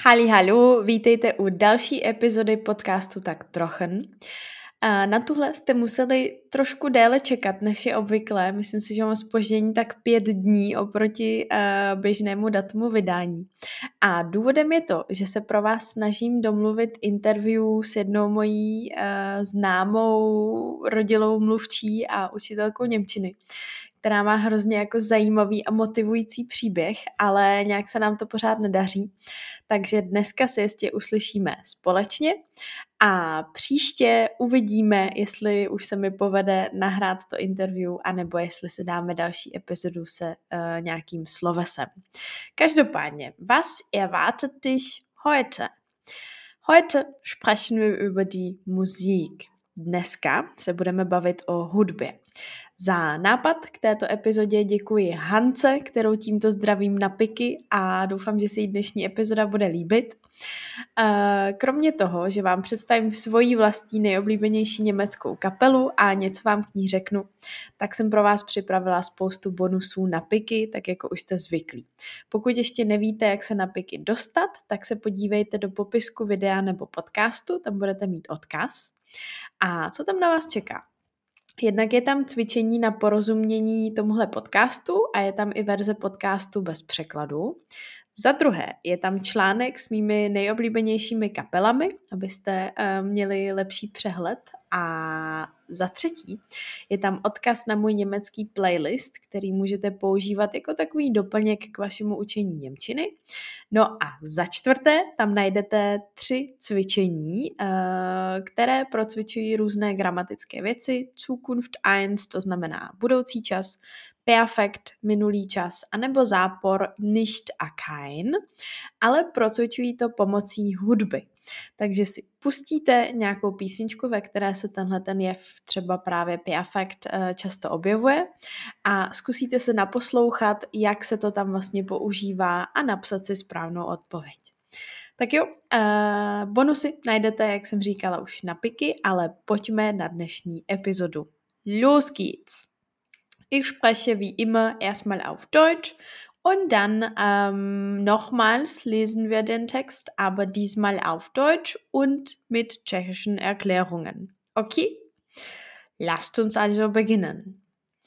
Hallo, vítejte u další epizody podcastu Tak trochen. Na tuhle jste museli trošku déle čekat, než je obvyklé. Myslím si, že mám zpoždění tak 5 dní oproti běžnému datumu vydání. A důvodem je to, že se pro vás snažím domluvit interview s jednou mojí známou rodilou mluvčí a učitelkou němčiny, která má hrozně jako zajímavý a motivující příběh, ale nějak se nám to pořád nedaří. Takže dneska se jistě uslyšíme společně a příště uvidíme, jestli už se mi povede nahrát to interview, anebo jestli si dáme další epizodu se nějakým slovesem. Každopádně, was erwartet dich heute? Heute sprechen wir über die Musik. Dneska se budeme bavit o hudbě. Za nápad k této epizodě děkuji Hance, kterou tímto zdravím na piky a doufám, že se jí dnešní epizoda bude líbit. Kromě toho, že vám představím svoji vlastní nejoblíbenější německou kapelu a něco vám k ní řeknu, tak jsem pro vás připravila spoustu bonusů na piky, tak jako už jste zvyklí. Pokud ještě nevíte, jak se na piky dostat, tak se podívejte do popisku videa nebo podcastu, tam budete mít odkaz. A co tam na vás čeká? Jednak je tam cvičení na porozumění tomuhle podcastu a je tam i verze podcastu bez překladu. Za druhé je tam článek s mými nejoblíbenějšími kapelami, abyste měli lepší přehled. A za třetí je tam odkaz na můj německý playlist, který můžete používat jako takový doplněk k vašemu učení němčiny. No a za čtvrté tam najdete 3 cvičení, které procvičují různé gramatické věci. Zukunft 1, to znamená budoucí čas, Perfekt, minulý čas, anebo zápor nicht a kein, ale procvičují to pomocí hudby. Takže si pustíte nějakou písničku, ve které se ten jev, třeba právě Perfekt, často objevuje a zkusíte se naposlouchat, jak se to tam vlastně používá a napsat si správnou odpověď. Tak jo, bonusy najdete, jak jsem říkala, už na piky, ale pojďme na dnešní epizodu. Los geht's! Ich spreche wie immer erstmal auf Deutsch und dann nochmals lesen wir den Text, aber diesmal auf Deutsch und mit tschechischen Erklärungen. Okay? Lasst uns also beginnen.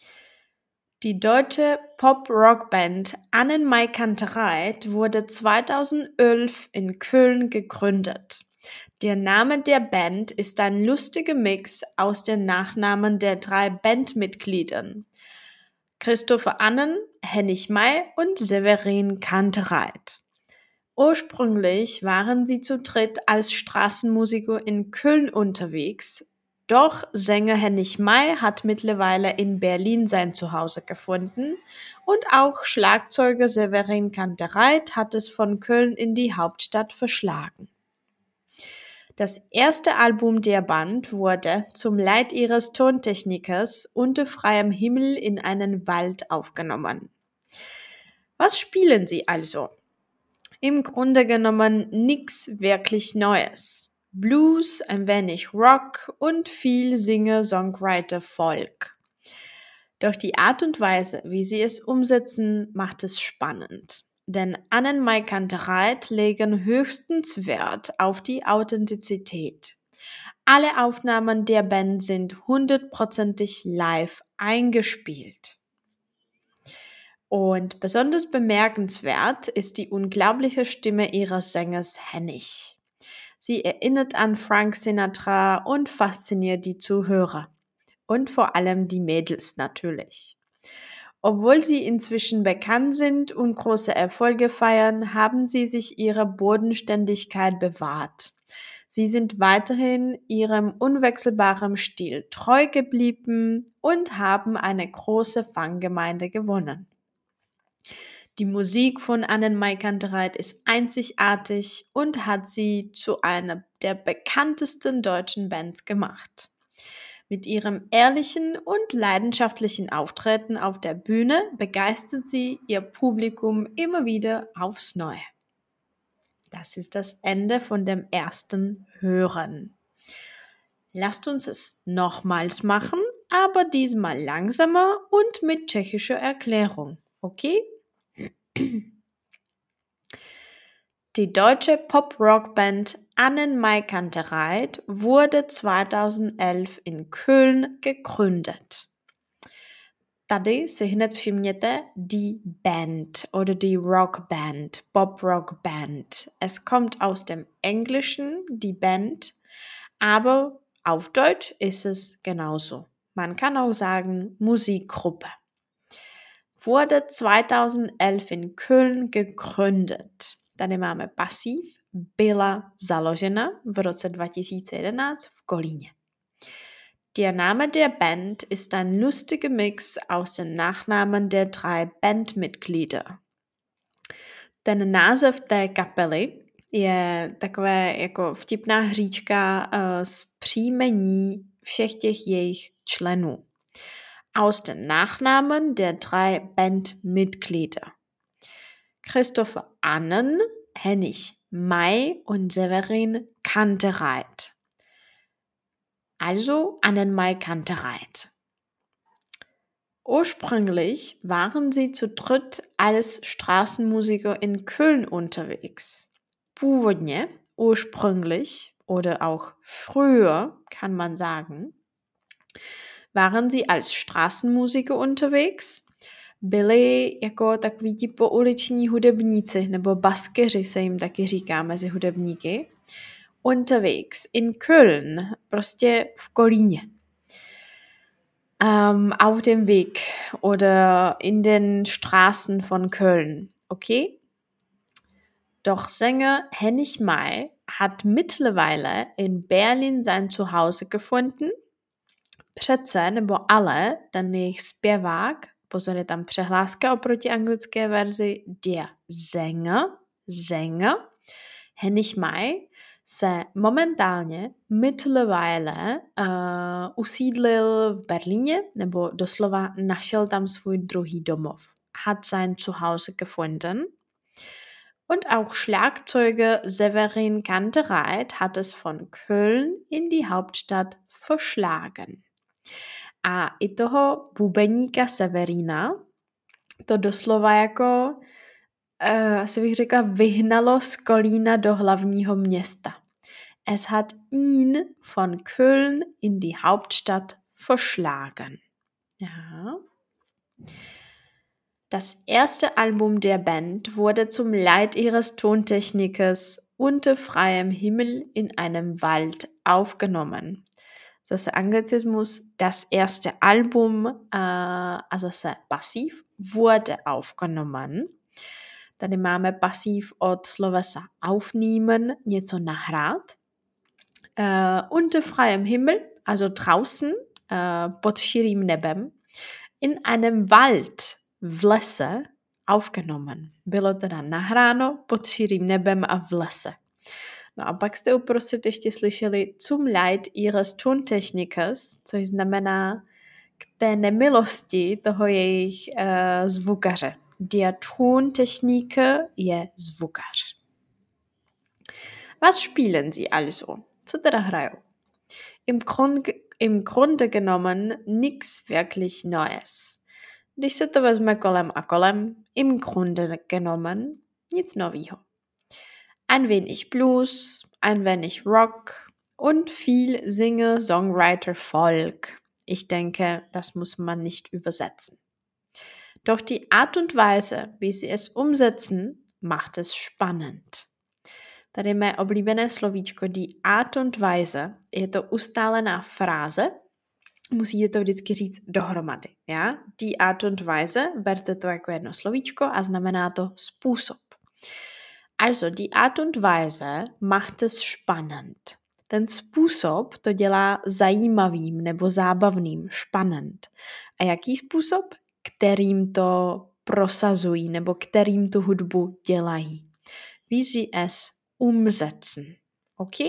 Die deutsche Pop-Rock-Band Annenmai-Kantereit wurde 2011 in Köln gegründet. Der Name der Band ist ein lustiger Mix aus den Nachnamen der 3 Bandmitgliedern. Christopher Annen, Hennig Mai und Severin Kantereit. Ursprünglich waren sie zu dritt als Straßenmusiker in Köln unterwegs, doch Sänger Hennig Mai hat mittlerweile in Berlin sein Zuhause gefunden und auch Schlagzeuger Severin Kantereit hat es von Köln in die Hauptstadt verschlagen. Das erste Album der Band wurde zum Leid ihres Tontechnikers unter freiem Himmel in einen Wald aufgenommen. Was spielen sie also? Im Grunde genommen nichts wirklich Neues. Blues, ein wenig Rock und viel Singer-Songwriter-Folk. Doch die Art und Weise, wie sie es umsetzen, macht es spannend. Denn Annenmai Kantereit legen höchstens Wert auf die Authentizität. Alle Aufnahmen der Band sind 100%ig live eingespielt. Und besonders bemerkenswert ist die unglaubliche Stimme ihres Sängers Hennig. Sie erinnert an Frank Sinatra und fasziniert die Zuhörer. Und vor allem die Mädels natürlich. Obwohl sie inzwischen bekannt sind und große Erfolge feiern, haben sie sich ihre Bodenständigkeit bewahrt. Sie sind weiterhin ihrem unwechselbaren Stil treu geblieben und haben eine große Fangemeinde gewonnen. Die Musik von Annenmai Kantereit ist einzigartig und hat sie zu einer der bekanntesten deutschen Bands gemacht. Mit ihrem ehrlichen und leidenschaftlichen Auftreten auf der Bühne begeistert sie ihr Publikum immer wieder aufs Neue. Das ist das Ende von dem ersten Hören. Lasst uns es nochmals machen, aber diesmal langsamer und mit tschechischer Erklärung. Okay? Die deutsche Pop-Rock-Band Annen-Mai-Kantereit wurde 2011 in Köln gegründet. Tady si hned všimněte die Band oder die Rockband, Pop-Rock-Band. Es kommt aus dem Englischen, die Band, aber auf Deutsch ist es genauso. Man kann auch sagen Musikgruppe. Wurde 2011 in Köln gegründet. Tady máme pasiv, byla založena v roce 2011 v Kolíně. Der Name der Band ist ein lustiger Mix aus den Nachnamen der 3 Bandmitglieder. Ten název té kapely je takové jako vtipná hříčka z příjmení všech těch jejich členů. Aus den Nachnamen der 3 Bandmitglieder. Christopher Annen, Hennig Mai und Severin Kantereit. Also Annen-Mai-Kantereit. Ursprünglich waren sie zu dritt als Straßenmusiker in Köln unterwegs. Původně, ursprünglich oder auch früher, kann man sagen, waren sie als Straßenmusiker unterwegs. Byli jako takoví ti pouliční hudebníci, nebo baskeři se jim taky říká mezi hudebníky. Unterwegs in Köln, prostě v Kolíně. Auf dem Weg oder in den Straßen von Köln, okay? Doch Sänger Hennig Mai hat mittlerweile in Berlin sein Zuhause gefunden. Přece nebo ale ten jejich zpěvák, pozor, je tam přehláska oproti anglické verzi, der Sänger Hennig Mai se momentálně mittlerweile usídlil v Berlíně, nebo doslova našel tam svůj druhý domov. Hat sein Zuhause gefunden. Und auch Schlagzeuger Severin Kantereit hat es von Köln in die Hauptstadt verschlagen. A i toho bubeníka Severina to doslova jako asi bych řekla, vyhnalo z Kolína do hlavního města. Es hat ihn von Köln in die Hauptstadt verschlagen. Ja. Das erste Album der Band wurde zum Leid ihres Tontechnikers unter freiem Himmel in einem Wald aufgenommen. Zase Anglizismus, das erste Album, a zase pasiv, wurde aufgenommen. Tady máme pasiv od slovesa aufnehmen, něco nahrát. Unter freiem Himmel, also draußen, pod širým nebem, in einem Wald, v lese, aufgenommen. Bylo teda nahráno pod širým nebem a v lese. No a pak jste uprostřed ještě slyšeli zum Leid ihres Tontechnikers, což znamená k té nemilosti toho jejich zvukaře. Der Tontechniker je zvukař. Was spielen sie also? Co teda hrajou? Im Grunde genommen nix wirklich Neues. Když se to vezme kolem a kolem, im Grunde genommen nic novýho. Ein wenig Blues, ein wenig Rock und viel Singer, Songwriter, Folk. Ich denke, das muss man nicht übersetzen. Doch die Art und Weise, wie sie es umsetzen, macht es spannend. Tady je mé oblíbené slovíčko die Art und Weise. Je to ustálená fráze. Musíte to vždycky říct dohromady. Ja? Die Art und Weise, berte to jako jedno slovíčko a znamená to způsob. Also, die Art und Weise macht es spannend. Ten způsob to dělá zajímavým nebo zábavným, spannend. A jaký způsob? Kterým to prosazují nebo kterým tu hudbu dělají. Wie sie es umsetzen. Okay?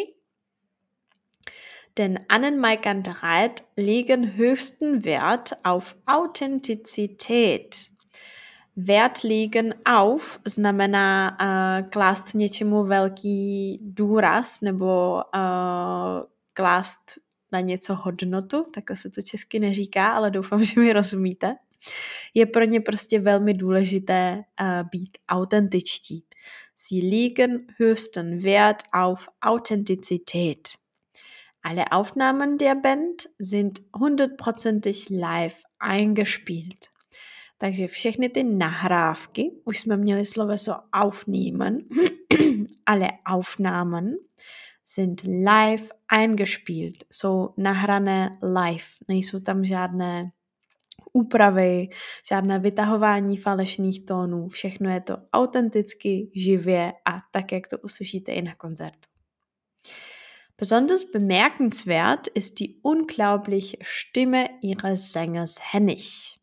Denn Annen-Mai-Kantereit legen höchsten Wert auf Authentizität. Wert legen auf znamená klást něčemu velký důraz nebo klást na něco hodnotu, takhle se to česky neříká, ale doufám, že mi rozumíte. Je pro ně prostě velmi důležité být autentičtí. Sie legen höchsten Wert auf Authentizität. Alle Aufnahmen der Band sind 100% live eingespielt. Takže všechny ty nahrávky, už jsme měli sloveso aufnehmen, alle Aufnahmen sind live eingespielt, jsou nahrané live, nejsou tam žádné úpravy, žádné vytahování falešných tónů, všechno je to autenticky, živě a tak, jak to uslyšíte i na koncertu. Besonders bemerkenswert ist die unglaubliche Stimme ihres Sängers Hennig.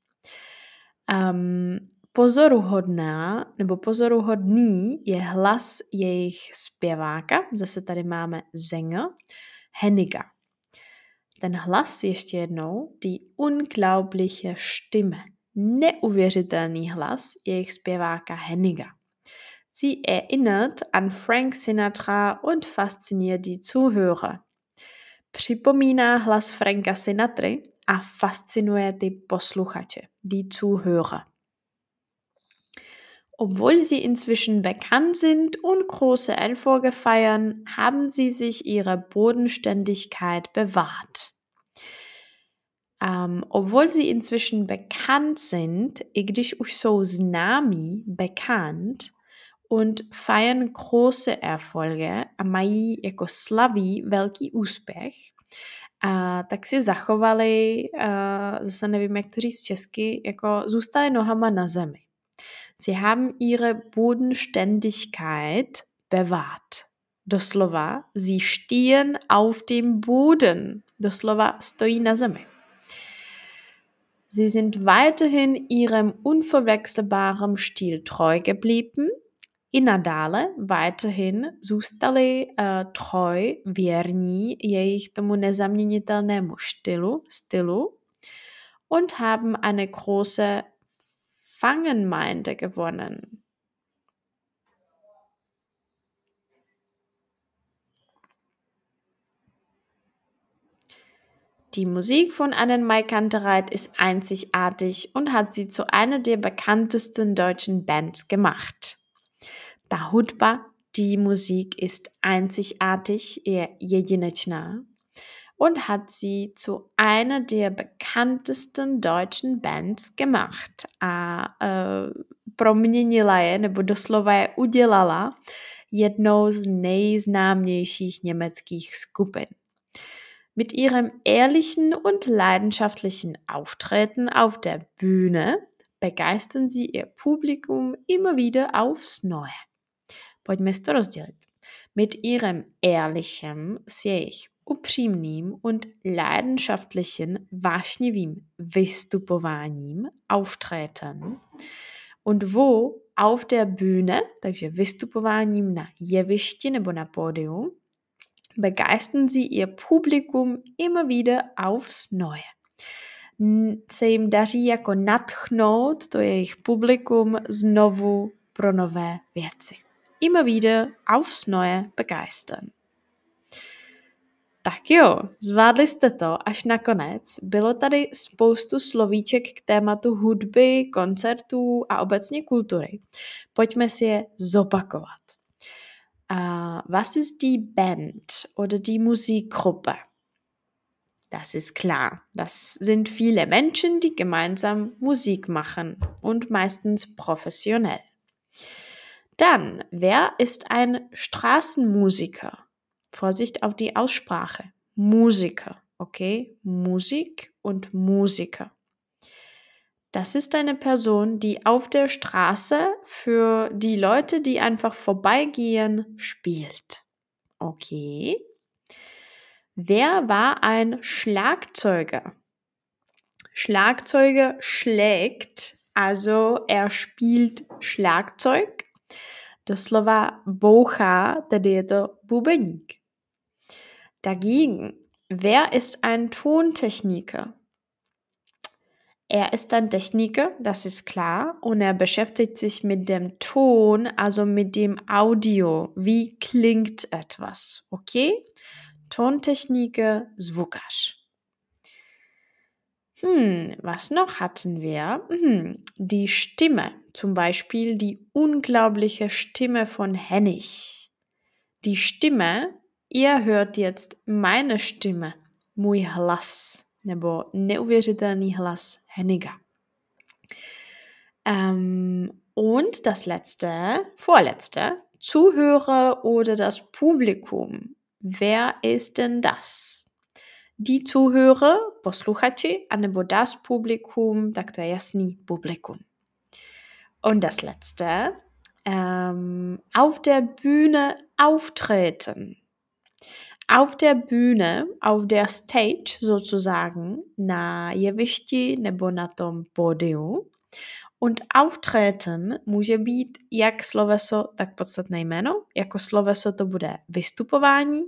Pozoruhodný je hlas jejich zpěváka, zase tady máme Sänger, Henniga. Ten hlas ještě jednou, die unglaubliche Stimme, neuvěřitelný hlas jejich zpěváka Henniga. Sie erinnert an Frank Sinatra und fasziniert die Zuhörer. Připomíná hlas Franka Sinatry a fascinuje ty posluchače, die Zuhörer. Obwohl sie inzwischen bekannt sind und große Erfolge feiern, haben sie sich ihre Bodenständigkeit bewahrt. Obwohl sie inzwischen bekannt sind, i když už jsou známí, bekannt, und feiern große Erfolge a mají jako slaví velký úspěch, tak si zachovali, zase nevím, jak to říct česky, jako zůstali nohama na zemi. Sie haben ihre Bodenständigkeit bewahrt. Doslova, sie stehen auf dem Boden. Doslova stojí na zemi. Sie sind weiterhin ihrem unverwechselbaren Stil treu geblieben. I nadále weiterhin zůstali treu, věrní jejich tomu nezaměnitelnému stylu und haben eine große Fangemeinde gewonnen. Die Musik von Annemarie Kantereit ist einzigartig und hat sie zu einer der bekanntesten deutschen Bands gemacht. Ta hudba, die Musik ist einzigartig, je jedinečná und hat sie zu einer der bekanntesten deutschen Bands gemacht. A proměnila je, nebo doslova je udělala jednou z nejznámějších německých skupin. Mit ihrem ehrlichen und leidenschaftlichen Auftreten auf der Bühne begeistern sie ihr Publikum immer wieder aufs Neue. Pojďme si to rozdělit. Mit ihrem ehrlichen, s jejich upřímným und leidenschaftlichen, vášnivým vystupováním, Auftreten. Und wo? Auf der Bühne, takže vystupováním na jevišti nebo na pódiu, begeistern sie ihr Publikum immer wieder aufs Neue. Se jim daří jako nadchnout to jejich publikum znovu pro nové věci. Immer wieder aufs Neue begeistern. Tak jo, zvládli jste to až nakonec. Bylo tady spoustu slovíček k tématu hudby, koncertů a obecně kultury. Pojďme si je zopakovat. Was ist die Band oder die Musikgruppe? Das ist klar. Das sind viele Menschen, die gemeinsam Musik machen und meistens professionell. Dann, wer ist ein Straßenmusiker? Vorsicht auf die Aussprache. Musiker, okay? Musik und Musiker. Das ist eine Person, die auf der Straße für die Leute, die einfach vorbeigehen, spielt. Okay. Wer war ein Schlagzeuger? Schlagzeuger schlägt, also er spielt Schlagzeug. Doslova bouchá, tedy je to bubeník. Dagegen, wer ist ein Tontechniker? Er ist ein Techniker, das ist klar, und er beschäftigt sich mit dem Ton, also mit dem Audio. Wie klingt etwas, okay? Tontechniker, zvukař. Was noch hatten wir? Die Stimme, zum Beispiel die unglaubliche Stimme von Hennig. Die Stimme, ihr hört jetzt meine Stimme, můj hlas, nebo neuvěřitelný hlas Henniga. Und das vorletzte, Zuhörer oder das Publikum. Wer ist denn das? Die Zuhörer, posluchači, anebo das Publikum, tak to je jasný, publikum. Und das letzte, auf der Bühne auftreten. Auf der Bühne, auf der Stage sozusagen, na jevišti nebo na tom pódiu. Und auftreten může být jak sloveso, tak podstatné jméno. Jako sloveso to bude vystupování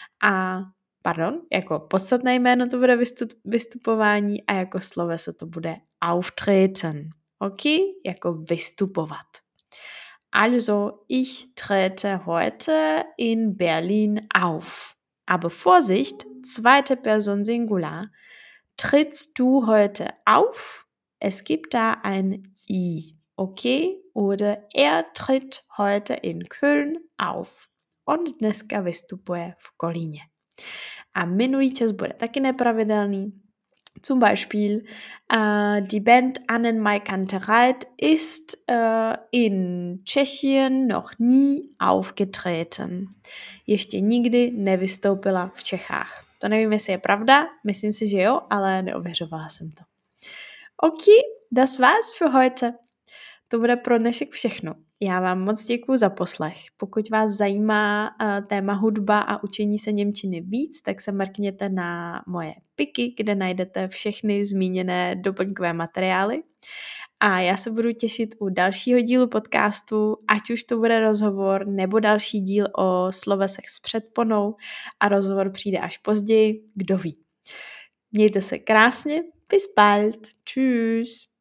jako podstatné jméno to bude vystupování a jako sloveso to bude auftreten. Ok? Jako vystupovat. Also, ich trete heute in Berlin auf. Aber Vorsicht, zweite Person Singular. Trittst du heute auf? Es gibt da ein I, okay? Oder er tritt heute in Köln auf. On dneska vystupuje v Kolíně. A minulý čas bude taky nepravidelný. Zum Beispiel, die Band Annenmai-Kantereit ist in Tschechien noch nie aufgetreten. Ještě nikdy nevystoupila v Čechách. To nevím, jestli je pravda, myslím si, že jo, ale neověřovala jsem to. Ok, das war's für heute. To bude pro dnešek všechno. Já vám moc děkuju za poslech. Pokud vás zajímá téma hudba a učení se němčiny víc, tak se mrkněte na moje piky, kde najdete všechny zmíněné doplňkové materiály. A já se budu těšit u dalšího dílu podcastu, ať už to bude rozhovor nebo další díl o slovesech s předponou a rozhovor přijde až později, kdo ví. Mějte se krásně, bis bald, tschüss.